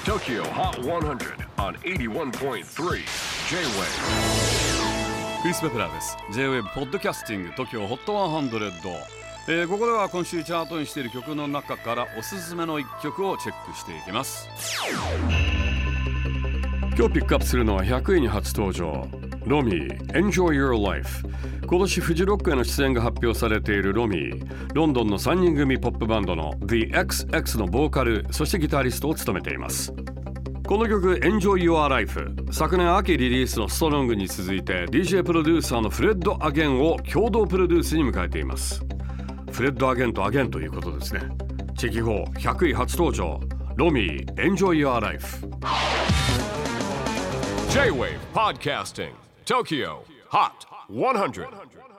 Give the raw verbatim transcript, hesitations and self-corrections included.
Tokyo Hot one hundred on エイティワンポイントスリー J-Wave。 クリス・ペプラーです。 J-Wave ポッドキャスティング TOKYO ホットひゃく、えー、ここでは今週チャートにしている曲の中からおすすめのいっきょくをチェックしていきます。今日ピックアップするのはひゃくいに初登場、ロミー Enjoy Your Life。 今年フジロックへの出演が発表されているロミー、ロンドンのさんにん組ポップバンドの The エックスエックス のボーカル、そしてギタリストを務めています。この曲 Enjoy Your Life、 昨年秋リリースのストロングに続いて ディージェー プロデューサーのフレッド・アゲンを共同プロデュースに迎えています。フレッド・アゲンとアゲンということですね。チェキフォーひゃくい初登場、ロミー Enjoy Your Life。 J-Wave Podcasting Tokyo Hot one hundred。